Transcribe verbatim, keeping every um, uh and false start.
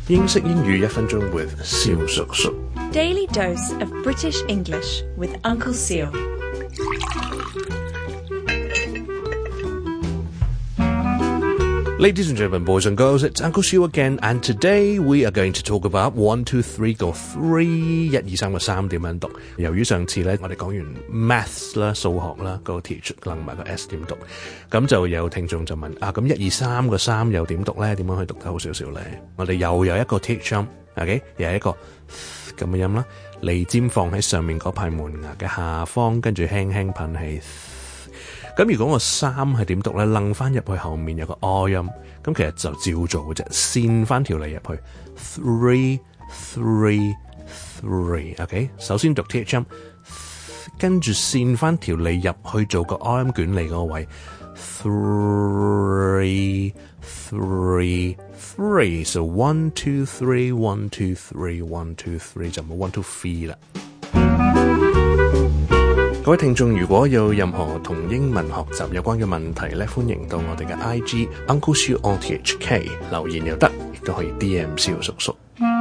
英式英語一分鐘 with 蕭叔叔。 Daily dose of British English with Uncle Seal. Ladies and gentlemen, boys and girls, it's Uncle Seal again, and today we are going to talk about one, two, three 個 three 一二三個三點樣讀。由於上次咧我哋講完 maths 啦數學啦個 teach 能埋個 s 點讀，咁就有聽眾就問啊，咁一二三個三又點讀咧？點樣去讀得好少少咧？我哋又有一個 teach 音 ，OK， 又係一個咁嘅音啦，脷尖放喺上面嗰排門牙嘅下方，跟住輕輕噴氣。咁如果個三係點讀咧？楞翻入去後面有個 o 音，咁其實就照做嘅啫，線翻條脷入去 three three three，OK， 首先讀 th 音，跟住線翻條脷入去做個 o 音捲脷嗰個位 three three three，so one two three one two three one two three 就冇 one two three 啦。各位聽眾，如果有任何同英文學習有關嘅問題咧，歡迎到我哋嘅 I G Uncle Seal on T H K 留言又得，亦都可以 D M 蕭叔叔。